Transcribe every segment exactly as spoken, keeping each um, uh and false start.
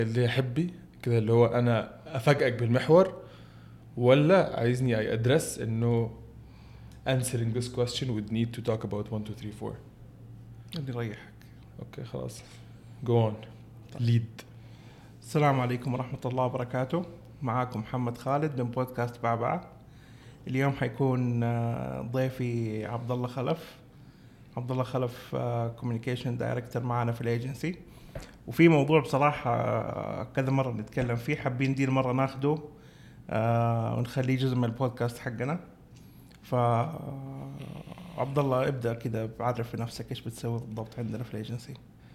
اللي يحبي كده اللي هو انا افاجئك بالمحور، ولا عايزني اي ادرس انه answering this question would need to talk about one two three four. اللي يريحك. اوكي خلاص go on lead. السلام عليكم ورحمة الله وبركاته. معاكم محمد خالد من بودكاست بعبعة. اليوم حيكون ضيفي عبد الله خلف. عبد الله خلف كوميونيكيشن دايركتور معنا في الايجنسي، وفي موضوع بصراحة كذا مرة نتكلم فيه، حابين دي المرة ناخده ونخليه جزء من البودكاست حقنا. فعبد الله ابدأ كده بعرف نفسك، ايش بتسوي بالضبط عندنا في الايجنسي؟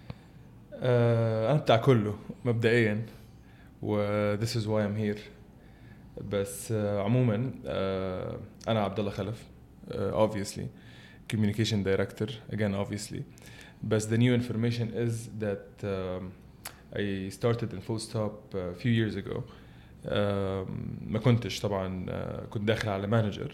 أه أنا بتاع كله مبدئيا و this is why I'm here. بس uh, عموما uh, أنا عبد الله خلف uh, obviously communication director again obviously. But the new information is that um, I started in Full Stop a few years ago. um, ما كنتش طبعا uh, كنت داخل على manager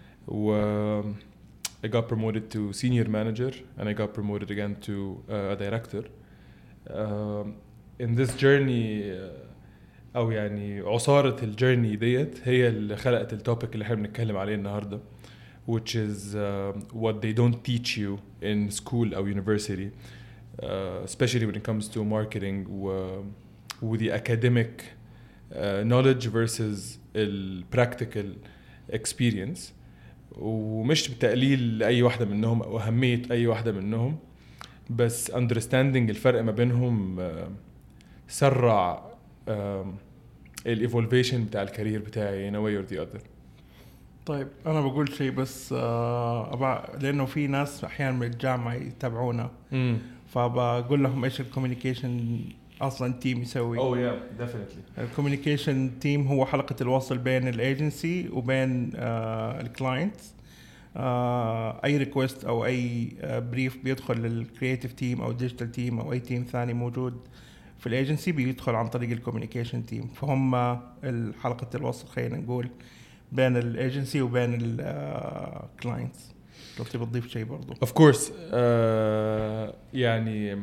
و I got promoted to senior manager and I got promoted again to uh, a director. Um, in this journey uh, أو يعني عصارة الجيرني ديت هي اللي خلقت التوبيك اللي احنا بنتكلم عليه النهاردة, which is uh, what they don't teach you in school or university, uh, especially when it comes to marketing و, with the academic uh, knowledge versus the practical experience. ومش بتقليل لأي واحدة منهم أو أهمية أي واحدة منهم, بس understanding الفرق ما بينهم uh, سرع uh, الإيفولفيشن بتاع الكارير بتاعي in a way or the other. طيب أنا بقول شيء بس آه أبع... لأنه في ناس أحيانا من الجامعة يتابعونا, mm. فبقول لهم إيش الكوميونيكيشن أصلاً تيم يسوي. Oh yeah definitely. الكوميونيكيشن تيم هو حلقة الوصل بين الايجنسي وبين آه الكلاينت. آه أي ريكوست أو أي آه بريف بيدخل للكرياتيف تيم أو ديجيتال تيم أو أي تيم ثاني موجود في الايجنسي بيدخل عن طريق الكوميونيكيشن تيم, فهم الحلقة الوصل خلينا نقول بين الايجنسي وبين الكلاينتس. لو تبي تضيف شيء برضو. of course uh, يعني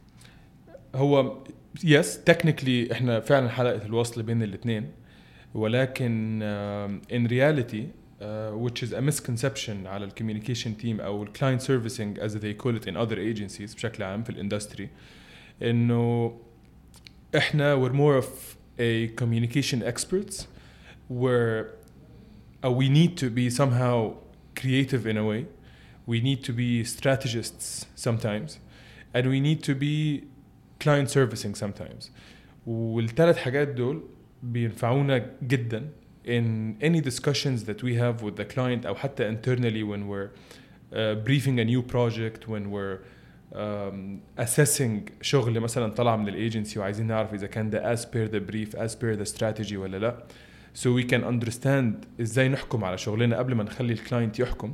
هو yes technically احنا فعلا حلقة الوصل بين الاثنين, ولكن uh, in reality uh, which is a misconception على ال communication team أو ال client servicing as they call it in other agencies بشكل عام في الاندستري, إنه إحنا we're more of a communication experts where uh, we need to be somehow creative in a way, we need to be strategists sometimes, and we need to be client servicing sometimes. والثلاث حاجات دول بينفعونا جدا in any discussions that we have with the client أو حتى internally when we're uh, briefing a new project, when we're um, assessing شغل مثلا طلع من الايجنسي وعايزين نعرف إذا كان ده as per the brief, as per the strategy ولا لا, so we can understand إزاي نحكم على شغلنا قبل ما نخلي الكلاينت يحكم.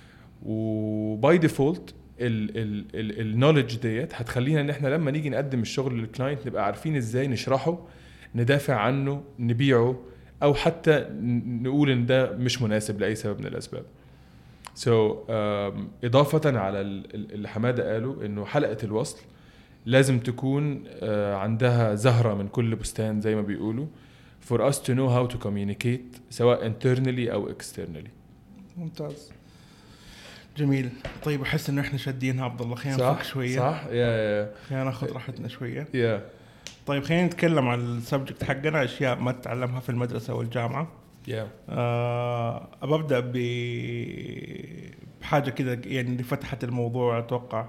و by default النوليدج ديت هتخلينا ان احنا لما نيجي نقدم الشغل للكلاينت نبقى عارفين ازاي نشرحه, ندافع عنه, نبيعه, او حتى نقول ان ده مش مناسب لاي سبب من الاسباب. so um, اضافة على اللي حمادة قاله انه حلقة الوصل لازم تكون uh, عندها زهرة من كل بستان زي ما بيقولوا for us to know how to communicate سواء internally او externally. ممتاز جميل. طيب احس انه احنا شادينها عبد الله, خلينا نفك شويه. صح يا يا خلينا ناخذ راحتنا شويه. يا طيب خلينا نتكلم عن السبجكت حقنا, اشياء ما تتعلمها في المدرسه والجامعه. يا آه ابدا ب بحاجه كده يعني اللي فتحت الموضوع اتوقع.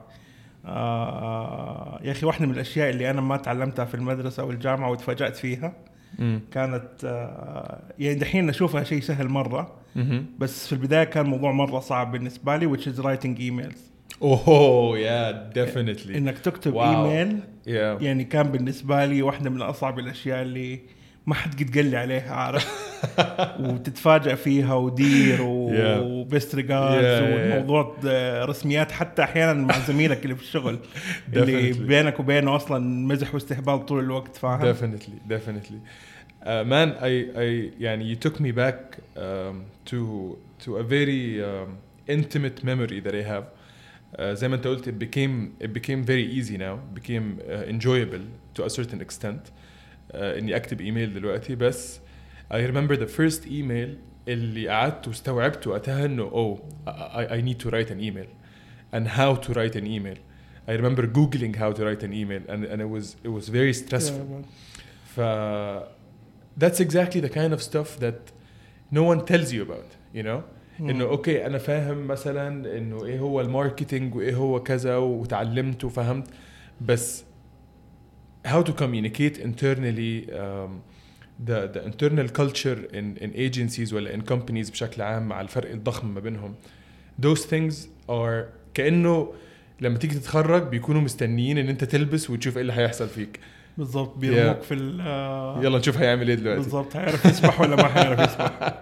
آه يا اخي واحده من الاشياء اللي انا ما تعلمتها في المدرسه والجامعه وتفاجأت فيها م. كانت آه يعني دحين نشوفها شيء سهل مره, م-م. بس في البدايه كان موضوع مره صعب بالنسبه لي, which is writing emails. اوه يا definitely انك تكتب wow. ايميل yeah. يعني كان بالنسبه لي واحده من اصعب الاشياء اللي ما حد قد قال لي عليها, عارف وتتفاجأ فيها ودير وبست ريجاردز والموضوع رسميات حتى احيانا مع زميلك اللي في الشغل اللي بينك وبينه اصلا مزح واستهبال طول الوقت, فاهم؟ definitely definitely uh, man I I يعني you took me back um, to to a very um, intimate memory that I have. uh, زي ما انت قلت it became it became very easy now, became uh, enjoyable to a certain extent. اني اكتب ايميل دلوقتي. بس I remember the first email اللي قعدت واستوعبت وقتها انه oh I, I need to write an email and how to write an email. I remember googling how to write an email and and it was it was very stressful. Yeah, ف that's exactly the kind of stuff that no one tells you about, you know. hmm. انه اوكي انا فاهم مثلا انه ايه هو الماركتينج وايه هو كذا وتعلمت وفهمت، بس how to communicate internally um, the the internal culture in in agencies ولا in companies بشكل عام مع الفرق الضخم ما بينهم. Those things are كأنه لما تيجي تتخرج بيكونوا مستنيين ان انت تلبس وتشوف ايه اللي هيحصل فيك. بالضبط بيرموك yeah. في ال يلا نشوف هيعمل ايه دلوقتي. بالضبط هيعرف يسبح ولا ما هيعرف يسبح.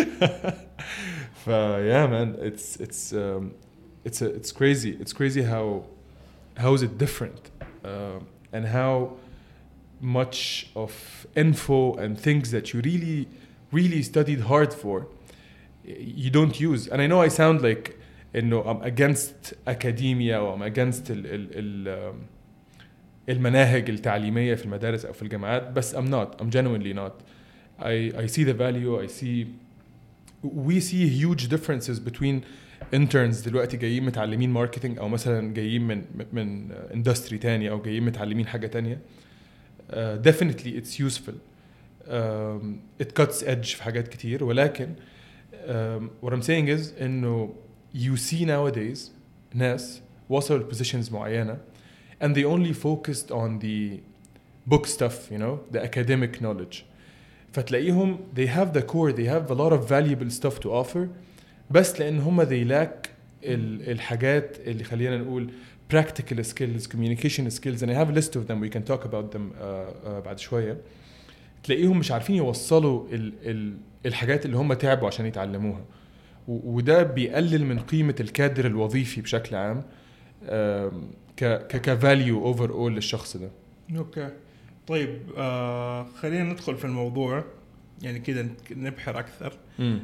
ف yeah man it's it's um, it's a, it's crazy it's crazy how how is it different uh, and how much of info and things that you really really studied hard for you don't use. And I know I sound like you know I'm against academia or I'm against ال ال ال المناهج التعليمية في المدارس أو في الجامعات، بس I'm not I'm genuinely not. I I see the value. I see we see huge differences between interns دلوقتي جايين متعلمين ماركتينج أو مثلا جايين من من industry تانية أو جايين متعلمين حاجة تانية. Uh, definitely it's useful. Um, it cuts edge في حاجات كتير، ولكن um, what I'm saying is إنه you see nowadays ناس وصلوا لpositions معينة and they only focused on the book stuff, you know, the academic knowledge. فتلاقيهم they have the core, they have a lot of valuable stuff to offer, بس لأن هم they lack ال, الحاجات اللي خلينا نقول practical skills, communication skills, and I have a list of them. We can talk about them uh, uh, بعد شوية. تلاقيهم مش عارفين يوصلوا ال, ال, الحاجات اللي هم تعبوا عشان يتعلموها، وده بيقلل من قيمة الكادر الوظيفي بشكل عام ك ك value overall للشخص ده. اوكي طيب آه خلينا ندخل في الموضوع يعني كده نبحر أكثر.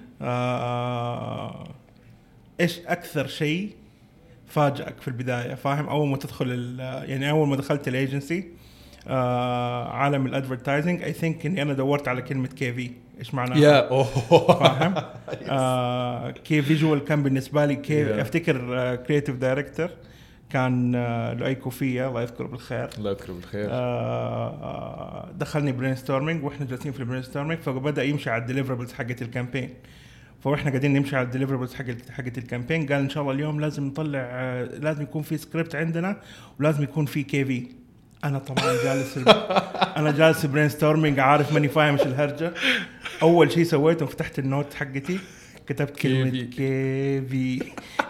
آه إيش أكثر شيء فاجأك في البداية؟ فاهم أول ما تدخل يعني أول ما دخلت الأجنسي آه عالم الأدفرتايزنج I think إني أنا دورت على كلمة كي في إيش معناها. yeah. فاهم آه كي فيجوال كان بالنسبة لي كي yeah. أفتكر كرياتيف uh, دايركتور كان لؤي كوفية الله يذكره بالخير. الله يذكره بالخير. آه دخلني برين ستورمينج واحنا جالسين في البرين ستورمينج، فبدأ يمشي على الديليفربلز حقة الكامبين، فاحنا قاعدين نمشي على الديليفربلز حقة حقة الكامبين. قال ان شاء الله اليوم لازم نطلع آه لازم يكون في سكريبت عندنا ولازم يكون في كي في. انا طبعا جالس انا جالس برين ستورمينج عارف ماني فاهم ايش الهرجة. اول شيء سويته فتحت النوت حقتي كتبت كلمة كي في.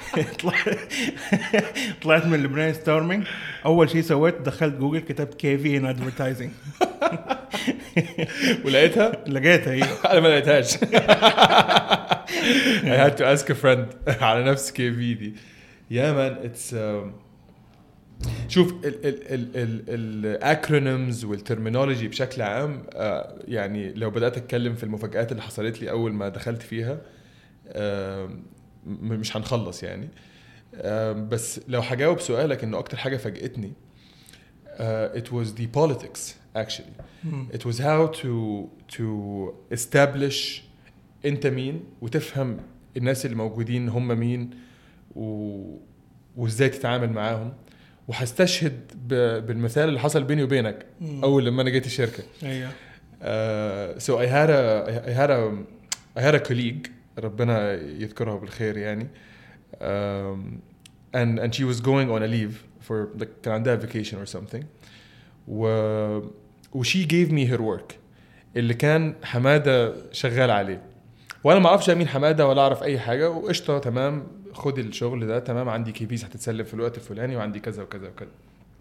طلعت من البرين ستورمينج أول شيء سويت دخلت جوجل كتبت كي في in advertising. ولقيتها؟ لقيتها هي. أنا ما لقيتهاش. I had to ask a friend على نفس كي في دي. Yeah man it's um, شوف ال ال ال ال الأكرونيمز والترمينولوجي بشكل عام uh, يعني لو بدأت أتكلم في المفاجآت اللي حصلت لي أول ما دخلت فيها uh, مش هنخلص يعني. بس لو هجاوب سؤالك انه اكتر حاجه فاجئتني uh, it was the politics actually. mm. It was how to to establish انت مين وتفهم الناس اللي موجودين هم مين و... وازاي تتعامل معاهم. وهستشهد ب... بالمثال اللي حصل بيني وبينك mm. اول لما انا جيت الشركه. ايوه uh, so I had a I had a I had a colleague ربنا يذكرها بالخير يعني um, and and she was going on a leave for like كان عندها vacation or something و و she gave me her work اللي كان حمادة شغال عليه، وانا ما اعرفش مين حمادة ولا اعرف اي حاجة، وقشطة تمام خد الشغل ده تمام عندي كي بيز هتتسلم في الوقت الفلاني وعندي كذا وكذا وكذا.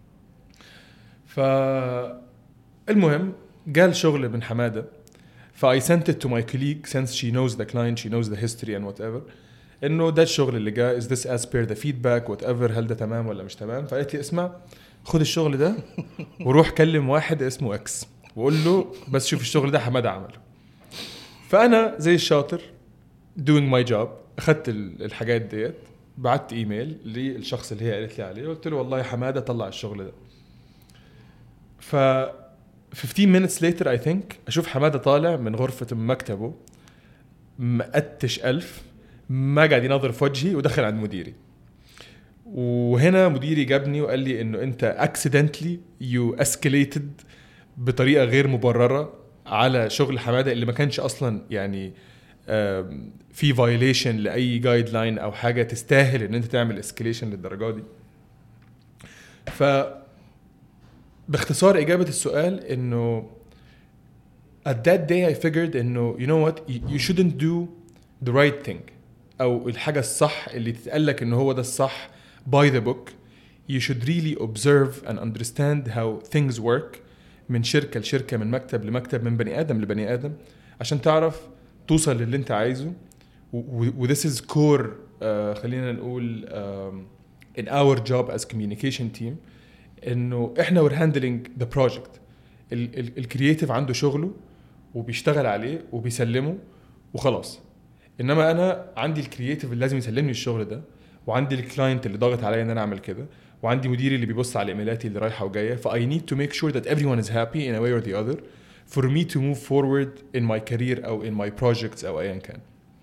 فالمهم قال شغل من حمادة فاي sent it to my colleague since she knows the client she knows the history and whatever انه ده الشغل اللي جاء is this as per the feedback whatever هل ده تمام ولا مش تمام. فقالت لي اسمع خد الشغل ده وروح كلم واحد اسمه اكس وقول له بس شوف الشغل ده حمادة عمله. فانا زي الشاطر doing my job اخدت الحاجات ديت بعت ايميل للشخص اللي هي قالت لي عليه قلت له والله حمادة طلع الشغل ده. ف fifteen minutes later I think اشوف حماده طالع من غرفه مكتبه مقتش ألف ما قاعد ينظر في وجهي ودخل عند مديري. وهنا مديري جابني وقال لي انه انت accidentally you escalated بطريقه غير مبرره على شغل حماده اللي ما كانش اصلا يعني في violation لاي جايد لاين او حاجه تستاهل ان انت تعمل escalation للدرجه دي. ف باختصار اجابه السؤال انه at that day I figured انه you know what you shouldn't do the right thing او الحاجه الصح اللي تتقالك انه هو ده الصح by the book. You should really observe and understand how things work من شركه لشركه من مكتب لمكتب من بني ادم لبني ادم عشان تعرف توصل للي انت عايزه. و this is core uh, خلينا نقول um, in our job as communication team انه احنا we're handling the project. الكرياتيف عنده شغله وبيشتغل عليه وبيسلمه وخلاص. انما انا عندي الكرياتيف اللي لازم يسلمني الشغل ده وعندي الكلاينت اللي ضاغط عليا ان انا اعمل كده وعندي مديري اللي بيبص على ايميلاتي اللي رايحه وجايه. ف I need to make sure that everyone is happy in a way or the other for me to move forward in my career او in my projects او ايا كان.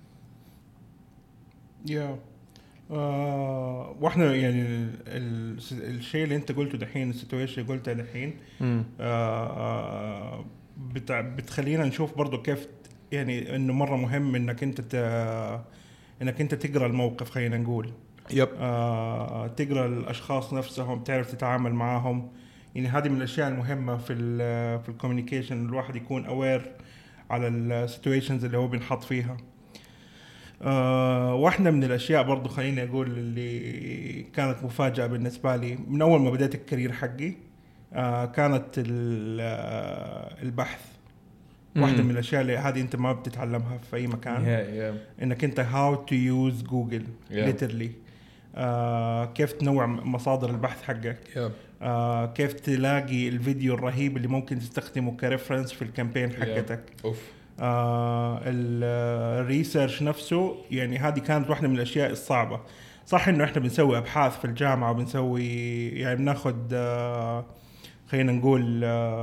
yeah. آه واحنا يعني ال ال الشيء اللي انت قلته دحين السيتويشن اللي قلته دحين آه بتع بتخلينا نشوف برضو كيف يعني انه مره مهم انك انت انك انت تقرا الموقف. خلينا نقول يب آه تقرا الاشخاص نفسهم تعرف تتعامل معهم. يعني هذه من الاشياء المهمه في ال في الكوميونيكيشن الواحد يكون اوير على السيتويشنز اللي هو بينحط فيها. آه واحدة من الأشياء برضو خليني أقول اللي كانت مفاجأة بالنسبة لي من أول ما بدأت الكارير حقي آه كانت البحث. واحدة من الأشياء اللي هذه أنت ما بتتعلمها في أي مكان. yeah, yeah. إنك أنت how to use Google yeah. literally آه كيف تنوع مصادر البحث حقك yeah. آه كيف تلاقي الفيديو الرهيب اللي ممكن تستخدمه كريفرنس في الكامبين حقتك. yeah. آه الريسيرش نفسه يعني هذه كانت واحدة من الأشياء الصعبة. صح إنه إحنا بنسوي أبحاث في الجامعة وبنسوي يعني بناخد آه خلينا نقول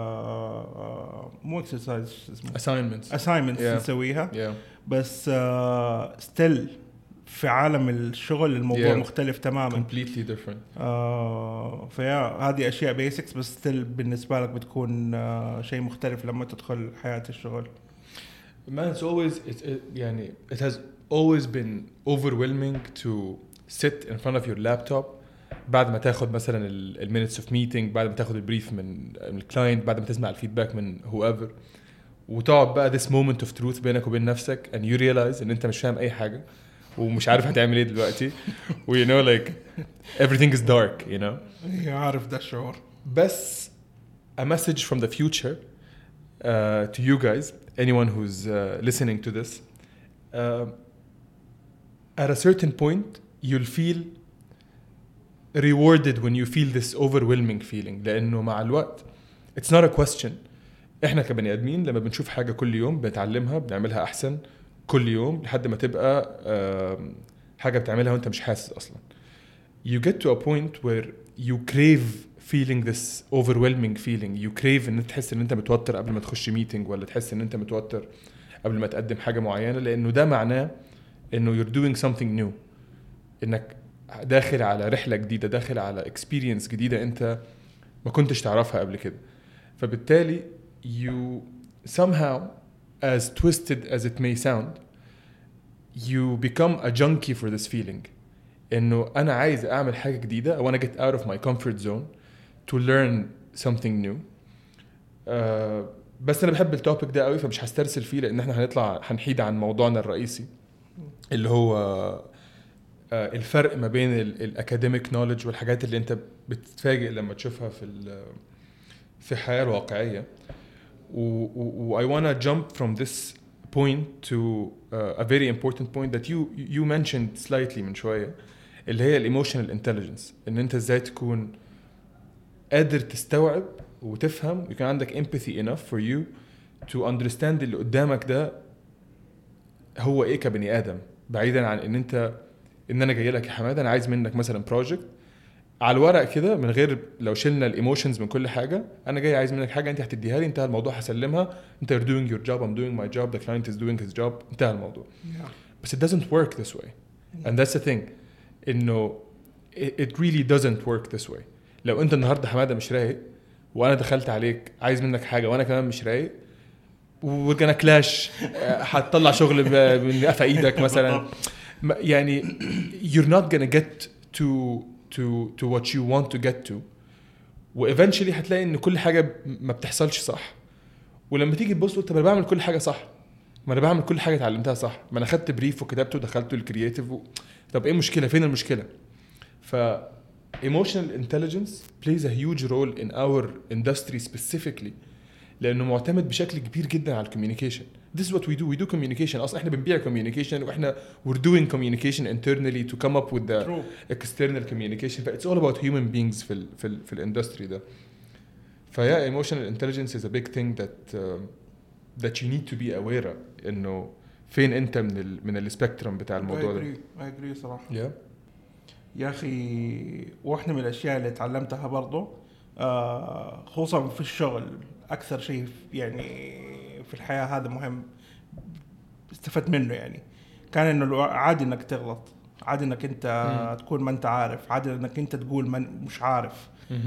آه مو exercise اسمه assignments assignments yeah. نسويها yeah. بس آه still في عالم الشغل الموضوع yeah. مختلف تماما completely different. آه فيا هذه أشياء basics بس still بالنسبة لك بتكون آه شيء مختلف لما تدخل حياة الشغل. Man, it's always it's it, يعني it has always been overwhelming to sit in front of your laptop بعد ما تاخد مثلا ال minutes of meeting بعد ما تاخد البريف من الكلاينت بعد ما تسمع الفيدباك من whoever وتقعد بقى this moment of truth بينك وبين نفسك and you realize ان انت مش فاهم اي حاجة ومش عارف هتعمل ايه دلوقتي و you know like everything is dark you know. عارف ده الشعور. بس a message from the future uh, to you guys, anyone who's uh, listening to this, uh, at a certain point you'll feel rewarded when you feel this overwhelming feeling لأنه مع الوقت it's not a question. إحنا كبني آدمين لما بنشوف حاجة كل يوم بنتعلمها بنعملها أحسن كل يوم لحد ما تبقى uh, حاجة بتعملها وأنت مش حاسس أصلا. You get to a point where you crave feeling this overwhelming feeling. You crave ان تحس ان انت متوتر قبل ما تخش ميتنج ولا تحس ان انت متوتر قبل ما تقدم حاجة معينة لانه ده معناه انه you're doing something new. انك داخل على رحلة جديدة داخل على experience جديدة انت ما كنتش تعرفها قبل كده. فبالتالي you somehow as twisted as it may sound you become a junkie for this feeling. انه انا عايز اعمل حاجة جديدة I wanna get out of my comfort zone to learn something new. uh, بس انا بحب التوبيك ده قوي فمش هسترسل فيه لان احنا هنطلع هنحيد عن موضوعنا الرئيسي اللي هو uh, الفرق ما بين الاكاديميك نوليدج والحاجات اللي انت بتتفاجئ لما تشوفها في في الحياة الواقعية. و I wanna jump from this point to uh, a very important point that you you mentioned slightly من شوية اللي هي الايموشنال انتليجنس. ان انت ازاي تكون قادر تستوعب وتفهم ويكون عندك empathy enough for you to understand اللي قدامك ده هو ايه كبني ادم بعيدا عن ان انت ان انا جاي لك يا حماده انا عايز منك مثلا project على الورق كده من غير لو شلنا الايموشنز من كل حاجه انا جاي عايز منك حاجه انت هتديها لي انتهى الموضوع هسلمها انت you're doing your job I'm doing my job the client is doing his job انتهى الموضوع yeah. بس it doesn't work this way yeah. and that's the thing انه it, it really doesn't work this way. لو انت النهارده حماده مش رايق وانا دخلت عليك عايز منك حاجه وانا كمان مش رايق وكنا كلاش هتطلع شغل من قفا ايدك مثلا يعني you're not gonna get to to to what you want to get to وايفنشلي هتلاقي ان كل حاجه ما بتحصلش صح ولما تيجي تبص طب انا بعمل كل حاجه صح ما انا بعمل كل حاجه اتعلمتها صح ما انا خدت بريف وكتبته ودخلته الكرياتيف و... طب ايه المشكله فين المشكله ف emotional intelligence plays a huge role in our industry specifically لانه معتمد بشكل كبير جدا على الكوميونيكيشن. This is what we do we do communication اصلا احنا بنبيع communication واحنا we're doing communication internally to come up with the True. external communication but it's all about human beings في ال في ال في الاندستري ده. فيا emotional intelligence is a big thing that uh, that you need to be aware of انه فين انت من ال من السبيكترم بتاع الموضوع ده. I agree I agree صراحه. yeah. يا اخي واحده من الاشياء اللي تعلمتها برضو آه خصوصا في الشغل اكثر شيء يعني في الحياه هذا مهم استفدت منه يعني كان انه عادي انك تغلط عادي انك انت م. تكون ما انت عارف عادي انك انت تقول من مش عارف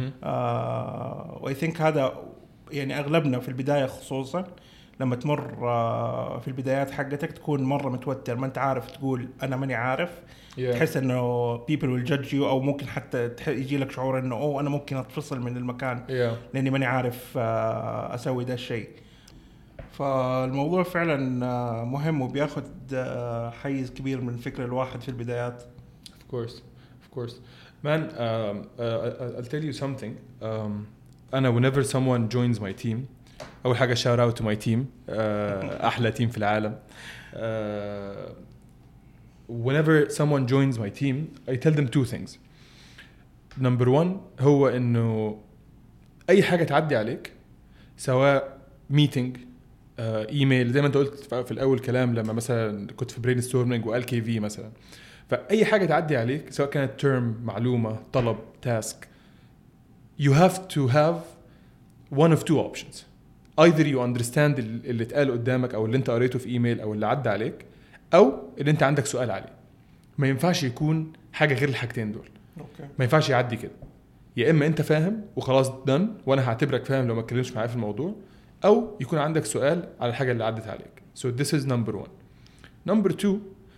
آه واي ثينك هذا يعني اغلبنا في البدايه خصوصا لما تمر آه في البدايات حقتك تكون مره متوتر ما انت عارف تقول انا ماني عارف yeah. تحس انه people will judge you او ممكن حتى يجي لك شعور انه اوه انا ممكن اتفصل من المكان yeah. لاني ماني عارف اسوي ده الشيء. فالموضوع فعلا مهم وبياخد حيز كبير من فكر الواحد في البدايات. Of course of course man um, uh, I'll tell you something um, أنا whenever someone joins my team أول حاجة shout out to my team uh, أحلى team في العالم uh, whenever someone joins my team I tell them two things. number one هو إنه أي حاجة تعدي عليك سواء meeting ايميل uh, زي ما انت قلت في الاول كلام لما مثلا كنت في برين ستورمينج وقال كي في مثلا فاي حاجه تعدي عليك سواء كانت تيرم معلومه طلب تاسك you have to have one of two options either you understand اللي اتقال قدامك او اللي انت قريته في ايميل او اللي عدى عليك او اللي انت عندك سؤال عليه. ما ينفعش يكون حاجه غير الحاجتين دول. okay. ما ينفعش يعدي كده يا اما انت فاهم وخلاص دن وانا هعتبرك فاهم لو ما اتكلمش معايا في الموضوع أو يكون عندك سؤال على الحاجة اللي عدت عليك. So this is number one. Number two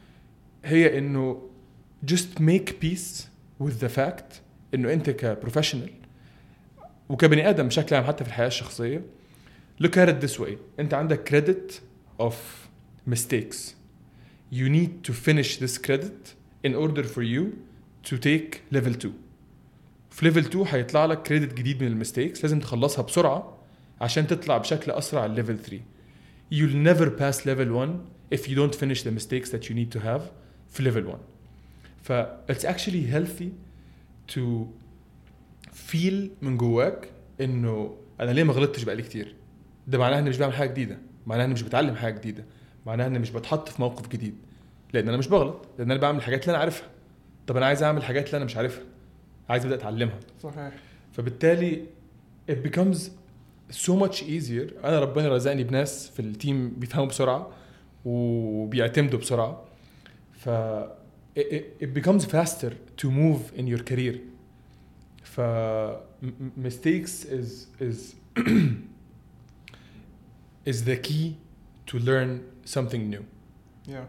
هي إنه just make peace with the fact إنه أنت كprofessional وكبني آدم بشكل عام حتى في الحياة الشخصية look at it this way أنت عندك credit of mistakes. You need to finish this credit in order for you to take level two. في level two هيطلع لك credit جديد من المستيكس لازم تخلصها بسرعة عشان تطلع بشكل أسرع على level three. You'll never pass level one if you don't finish the mistakes that you need to have في level one. ف it's actually healthy to feel من جواك إنه أنا ليه ما غلطتش بقالي كتير. ده معناه إني مش بعمل حاجة جديدة، معناه إني مش بتعلم حاجة جديدة، معناه إني مش بتحط في موقف جديد. لأن أنا مش بغلط، لأن أنا بعمل الحاجات اللي أنا عارفها. طب أنا عايز أعمل الحاجات اللي أنا مش عارفها، عايز أبدأ أتعلمها. صحيح. فبالتالي it becomes so much easier. أنا ربنا رزقني بناس في التيم بيفهموا بسرعة وبيعتمدوا بسرعة. ف it, it becomes faster to move in your career. ف mistakes is is is the key to learn something new. Yeah.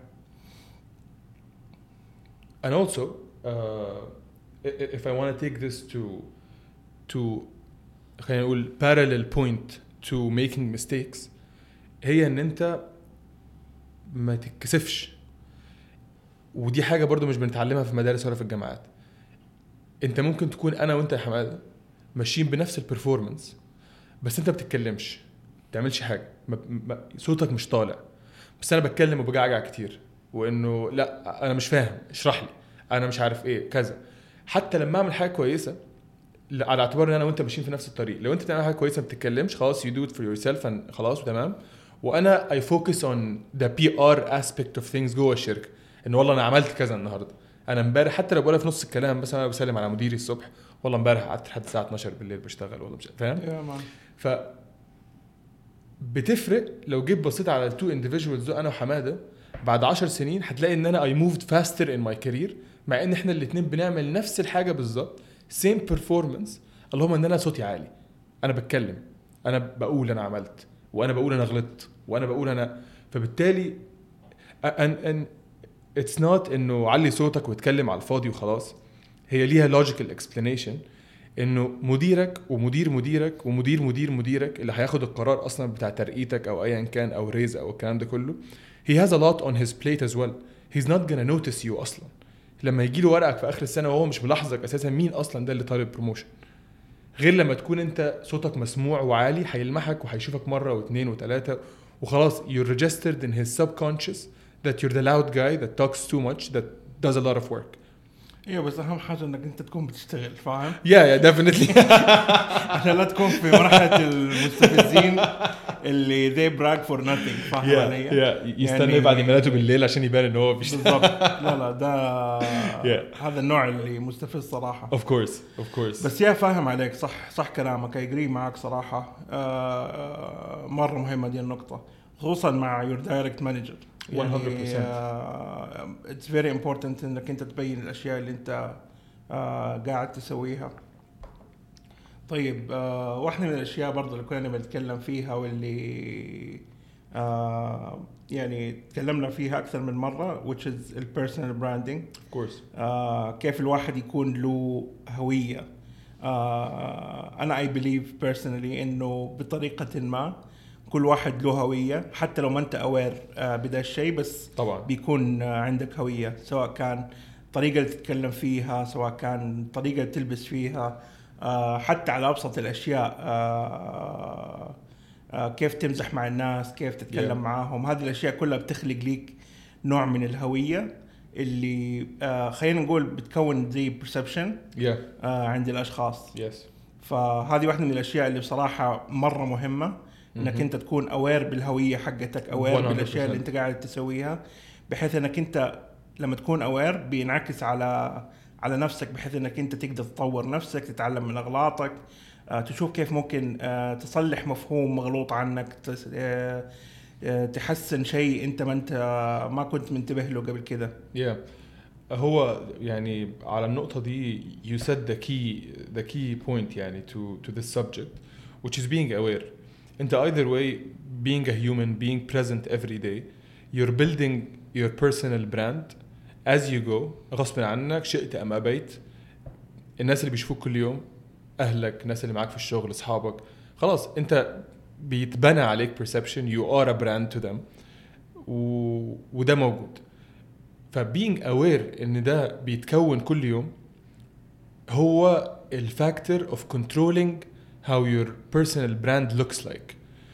And also, uh, if I want to take this to to خلينا نقول parallel point to making mistakes, هي ان انت ما تتكسفش. ودي حاجة برضو مش بنتعلمها في المدارس ولا في الجامعات. انت ممكن تكون انا وانت يا حماده ماشيين بنفس البرفورمانس بس انت بتتكلمش بتعملش حاجة ما ما صوتك مش طالع بس انا بتكلم وبجعجع كتير وانه لا انا مش فاهم اشرح لي انا مش عارف ايه كذا. حتى لما اعمل حاجه كويسه على اعتبار ان انا وانت ماشيين في نفس الطريق لو انت بتعمل حاجه كويسه ما بتتكلمش خلاص you do it for yourself خلاص وتمام. وانا I focus on the بي آر aspect of things جوه الشركه ان والله انا عملت كذا النهارده انا امبارح حتى لو بقولها في نص الكلام بس انا بسلم على مديري الصبح والله امبارح قعدت لحد الساعه اتناشر بالليل بشتغل ولا مش فاهم يا مان. ف بتفرق لو جيت بصيت على التو انديفيدوالز دول انا وحماده بعد عشر سنين هتلاقي ان انا I moved faster in my career مع ان احنا الاثنين بنعمل نفس الحاجه بالظبط same performance. اللهم ان انا صوتي عالي انا بتكلم انا بقول انا عملت وانا بقول انا غلطت وانا بقول انا فبالتالي ان ان it's not انه علي صوتك واتكلم على الفاضي وخلاص. هي ليها logical explanation انه مديرك ومدير مديرك ومدير مدير مديرك اللي هياخد القرار اصلا بتاع ترقيتك او ايا كان او ريز او الكلام ده كله he has a lot on his plate as well. he's not gonna notice you اصلا لما يجي له ورقك في اخر السنه وهو مش ملاحظك اساسا مين اصلا ده اللي طالب بروموشن غير لما تكون انت صوتك مسموع وعالي هيلمحك وهيشوفك مره واثنين وثلاثه وخلاص you're registered in his subconscious that you're the loud guy that talks too much that does a lot of work. ايوه بس اهم حاجه انك انت تكون بتشتغل فاهم yeah yeah definitely عشان لا تكون في مرحله المستفزين اللي they brag for nothing فاهم yeah, علي yeah. يستنى يعني بعد ميلاده بالليل عشان يبان ان هو بيشتغل بالضبط. لا لا ده yeah. هذا النوع اللي مستفز صراحه. of course of course بس يا فاهم عليك صح صح كلامك اجري معك صراحه. آه مره مهمه دي النقطه خصوصا مع your direct manager one hundred percent. يعني uh, it's very important انك انت تبين الاشياء اللي انت uh, قاعد تسويها. طيب uh, واحدة من الاشياء برضو اللي كنا بنتكلم فيها واللي uh, يعني تكلمنا فيها اكثر من مرة which is the personal branding. of course. uh, كيف الواحد يكون له هوية. uh, انا I believe personally انه بطريقة ما كل واحد له هوية حتى لو ما انت اوير بدا الشيء بس طبعا بيكون عندك هوية سواء كان طريقة اللي تتكلم فيها سواء كان طريقة اللي تلبس فيها حتى على أبسط الأشياء كيف تمزح مع الناس كيف تتكلم yeah. معاهم. هذه الأشياء كلها بتخلق ليك نوع من الهوية اللي خلينا نقول بتكون زي perception yeah. عند الأشخاص. yes. فهذه واحدة من الأشياء اللي بصراحة مرة مهمة انك انت تكون اوير بالهويه حقتك اوير بالاشياء اللي انت قاعد تسويها بحيث انك انت لما تكون اوير بينعكس على على نفسك بحيث انك انت تقدر تطور نفسك تتعلم من اغلاطك آه، تشوف كيف ممكن آه، تصلح مفهوم مغلوط عنك آه، آه، تحسن شيء انت ما انت ما كنت منتبه له قبل كده. yeah. هو يعني على النقطة دي you said the key the key point يعني to to this subject which is being aware. انت either way being a human being present every day you're building your personal brand as you go غصب عنك شئت ام ابيت. الناس اللي بيشوفوك كل يوم اهلك الناس اللي معاك في الشغل اصحابك خلاص انت بيتبنى عليك perception you are a brand to them و... وده موجود. فbeing aware ان ده بيتكون كل يوم هو الفاكتور of controlling how your personal brand looks like.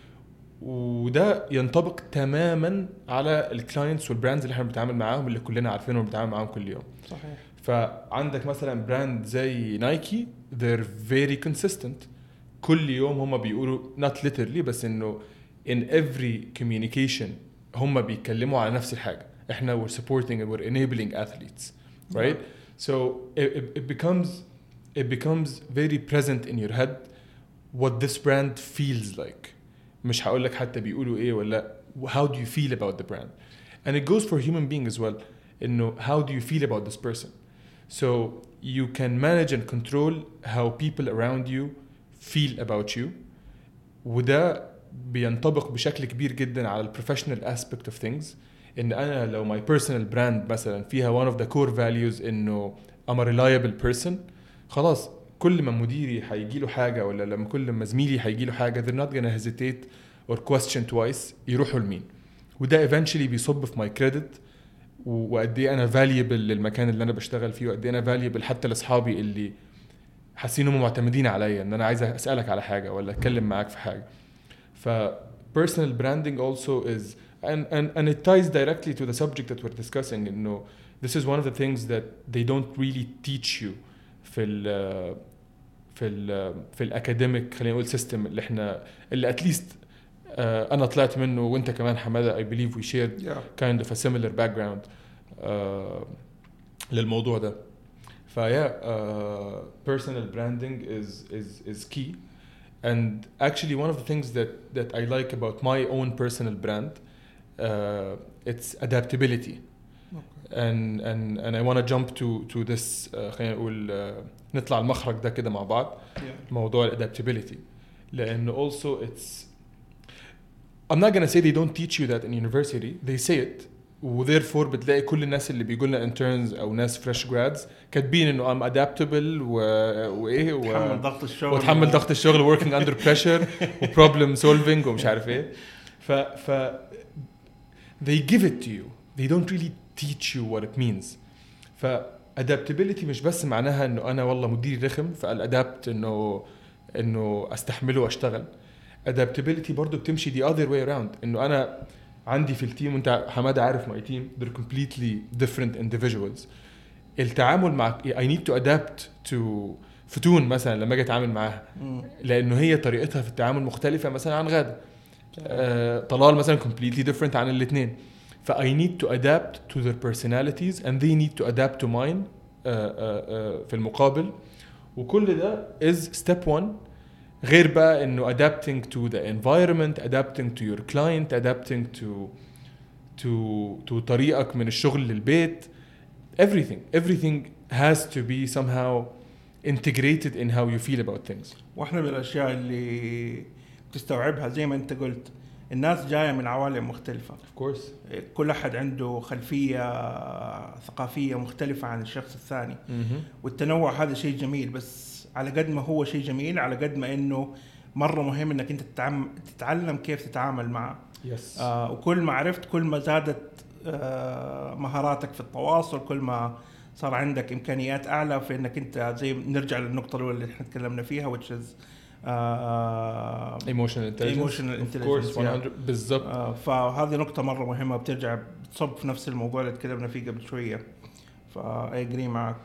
وده ينطبق تماما على الكلاينتس والبراندز اللي احنا بنتعامل معاهم اللي كلنا عارفينهم وبنتعامل معاهم كل يوم. صحيح. فعندك مثلا براند زي نايكي they're very consistent كل يوم هم بيقولوا not literally بس انه in every communication هم بيتكلموا على نفس الحاجة. احنا we're supporting and we're enabling athletes right yeah. so it, it becomes it becomes very present in your head what this brand feels like. مش هقول لك حتى بيقولوا ايه ولا how do you feel about the brand and it goes for human being as well انه how do you feel about this person so you can manage and control how people around you feel about you. وده بينطبق بشكل كبير جدا على البروفيشنال aspect of things. ان انا لو my personal brand مثلا فيها one of the core values انه I'm a reliable person خلاص كل ما مديري هيجي له حاجه ولا لما كل ما زميلي هيجي له حاجه they're not gonna hesitate or question twice يروحوا لمين. وده eventually بيصب في my credit وقد ايه انا valuable للمكان اللي انا بشتغل فيه وقد ايه انا valuable حتى لاصحابي اللي حاسين انهم معتمدين عليا ان انا عايز اسالك على حاجه ولا اتكلم معاك في حاجه. ف personal branding also is and and and it ties directly to the subject that we're discussing. You know, this is one of the things that they don't really teach you في ال في ال في الاكاديميك خلينا نقول سيستم اللي احنا اللي اتليست uh, انا طلعت منه وانت كمان حماده I believe we shared yeah. kind of a similar background. uh, للموضوع ده. فيا uh, personal branding is is is key. And actually one of the things that that I like about my own personal brand, uh, it's adaptability. Okay. and and and I want to jump to to this uh, خلينا نقول uh, نطلع المخرج ده كده مع بعض. yeah. موضوع adaptability لأنه also it's I'm not gonna say they don't teach you that in university, they say it, وtherefore بتلاقي كل الناس اللي بيقول لنا interns او ناس fresh grads كاتبين انه I'm adaptable و وايه و وتحمل ضغط الشغل وتحمل ضغط الشغل working under pressure و problem solving ومش عارف ايه. ف ف they give it to you, they don't really teach you what it means. ف adaptability مش بس معناها انه انا والله مديري رخم فالadapt انه انه استحمله واشتغل. adaptability برضو بتمشي the other way around, انه انا عندي في التيم وانت حماده عارف my team they're completely different individuals. التعامل مع I need to adapt to فتون مثلا لما اجي اتعامل معاها لانه هي طريقتها في التعامل مختلفه مثلا عن غاده. آه طلال مثلا completely different عن الاثنين. ف I need to adapt to their personalities and they need to adapt to mine آه آه آه في المقابل. وكل ده is step one. غير بقى انه adapting to the environment, adapting to your client, adapting to to to طريقك من الشغل للبيت. everything everything has to be somehow integrated in how you feel about things. واحنا من الاشياء اللي تستوعبها زي ما انت قلت الناس جايه من عوالم مختلفه. of course كل احد عنده خلفيه ثقافيه مختلفه عن الشخص الثاني. mm-hmm. والتنوع هذا شيء جميل، بس على قد ما هو شيء جميل على قد ما انه مره مهم انك انت تتعلم كيف تتعامل معه. yes. آه وكل ما عرفت كل ما زادت آه مهاراتك في التواصل، كل ما صار عندك امكانيات اعلى في انك انت زي نرجع للنقطه الاولى اللي احنا تكلمنا فيها which is uh, emotional intelligence. emotional intelligence. of course one hundred بالضبط. آه فهذه نقطه مره مهمه بترجع بتصب في نفس الموضوع اللي تكلمنا فيه قبل شويه. فا اجري معك.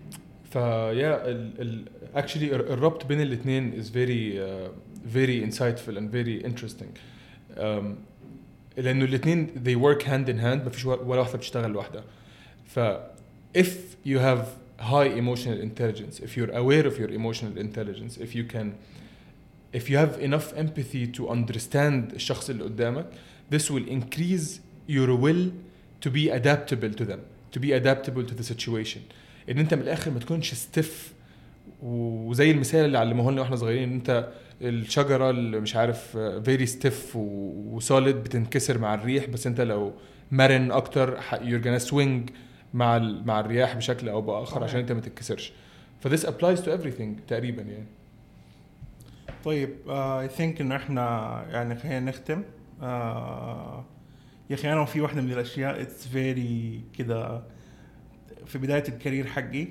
فيا ال ال actually الربط بين الاثنين is very uh, very insightful and very interesting. um, لأنه الاثنين they work hand in hand، ما فيش ولا واحدة بتشتغل لوحدها. ف if you have high emotional intelligence, if you're aware of your emotional intelligence, if you can if you have enough empathy to understand الشخص اللي قدامك, this will increase your will to be adaptable to them, to be adaptable to the situation. ان انت من الاخر ما تكونش ستيف، وزي المثال اللي علموه لنا واحنا صغيرين ان انت الشجره اللي مش عارف فيري ستيف وسوليد بتنكسر مع الريح، بس انت لو مرن اكتر you're gonna swing مع مع الرياح بشكل او باخر عشان انت ما تتكسرش. ف this applies to everything تقريبا يعني. طيب اي uh, ثينك ان احنا يعني خلينا نختم. uh, يا اخي انا في واحده من الاشياء اتس فيري كده في بداية الكارير حقي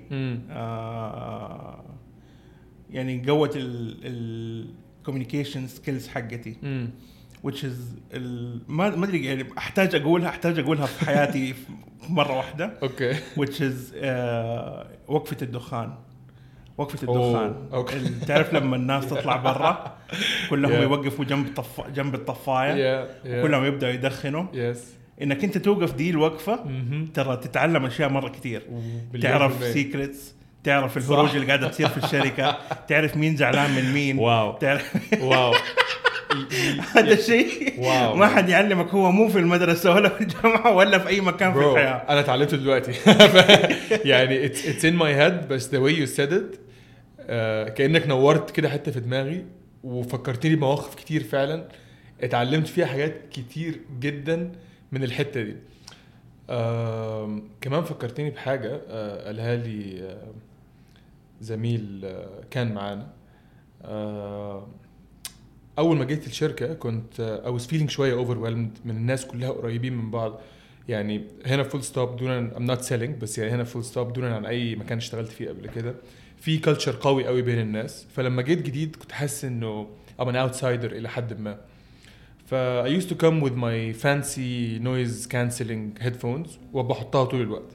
آه يعني قوة ال communication skills حقتي مم. which is ما ما أدري يعني أحتاج أقولها أحتاج أقولها في حياتي مرة واحدة. okay. which is آه وقفة الدخان. وقفة الدخان. oh, okay. تعرف لما الناس تطلع برا كلهم yeah. يوقفوا جنب الطف... جنب الطفاية yeah, yeah. كلهم يبدأوا يدخنوا. yes. انك انت توقف دي الوقفه mm-hmm. ترى تتعلم اشياء مره كتير. تعرف سيكريتس، تعرف الهروج اللي قاعده تصير في الشركه، تعرف مين زعلان من مين. واو تعرف واو هذا الشيء ما حد يعلمك، هو مو في المدرسه ولا في الجامعه ولا في اي مكان في الحياه. انا تعلمته دلوقتي يعني it's it's in my head بس the way you said it uh, كأنك نورت كده حتة في دماغي وفكرتني بمواقف كتير فعلا اتعلمت فيها حاجات كتير جدا من الحتة دي. آه، كمان فكرتني بحاجة آه، قالها لي آه، زميل آه، كان معانا. آه، أول ما جيت الشركة كنت آه، I was feeling شوية overwhelmed من الناس كلها قريبين من بعض. يعني هنا full stop دونا I'm not selling بس يعني هنا full stop دونا عن أي مكان اشتغلت فيه قبل كده. في culture قوي قوي بين الناس. فلما جيت جديد كنت حاسس إنه I'm an outsider إلى حد ما. ف I used to come with my fancy noise cancelling headphones وبحطها طول الوقت.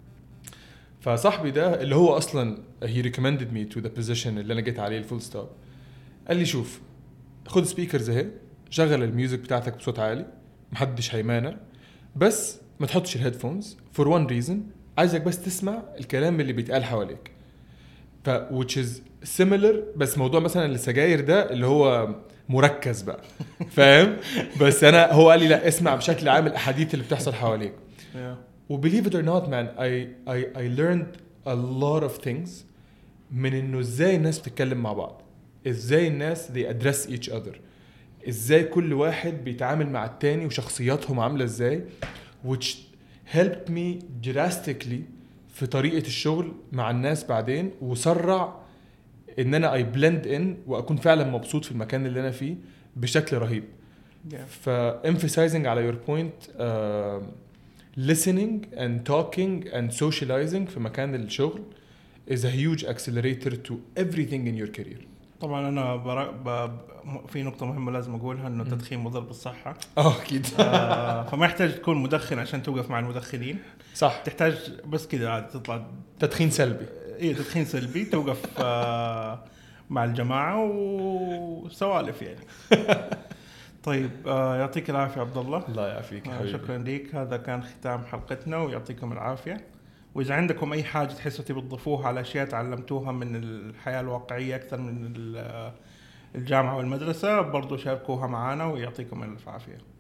فصاحبي ده اللي هو أصلاً he recommended me to the position اللي أنا جيت عليه الفول ستوب قال لي شوف خد سبيكرز اهي شغل الميوزك بتاعتك بصوت عالي محدش هيمانع بس ما تحطش الهيدفونز for one reason عايزك بس تسمع الكلام اللي بيتقال حواليك. ف which is similar، بس موضوع مثلا السجاير ده اللي هو مركز بقى فاهم. بس انا هو قال لي لا اسمع بشكل عام الاحاديث اللي بتحصل حواليك. Yeah. و believe it or not man I I I learned a lot of things من انه ازاي الناس بتتكلم مع بعض، ازاي الناس they address each other، ازاي كل واحد بيتعامل مع التاني وشخصياتهم عاملة ازاي، which helped me drastically في طريقة الشغل مع الناس بعدين، وسرع ان انا I blend in واكون فعلا مبسوط في المكان اللي انا فيه بشكل رهيب. Yeah. ف emphasizing على your point uh, listening and talking and socializing في مكان الشغل is a huge accelerator to everything in your career. طبعا انا برا... ب... في نقطه مهمه لازم اقولها انه التدخين مضر بالصحه. اه اكيد. آه فما يحتاج تكون مدخن عشان توقف مع المدخنين، صح، تحتاج بس كذا عاد تطلع تدخين سلبي. ايه تدخين سلبي توقف آه مع الجماعه وسوالف يعني. طيب آه يعطيك العافيه عبد الله. الله يعافيك آه حبيبي. شكرا لك، هذا كان ختام حلقتنا ويعطيكم العافيه. وإذا عندكم أي حاجة تحسوا تبي تضيفوها على أشياء تعلمتوها من الحياة الواقعية أكثر من الجامعة والمدرسة برضو شاركوها معنا ويعطيكم العافية.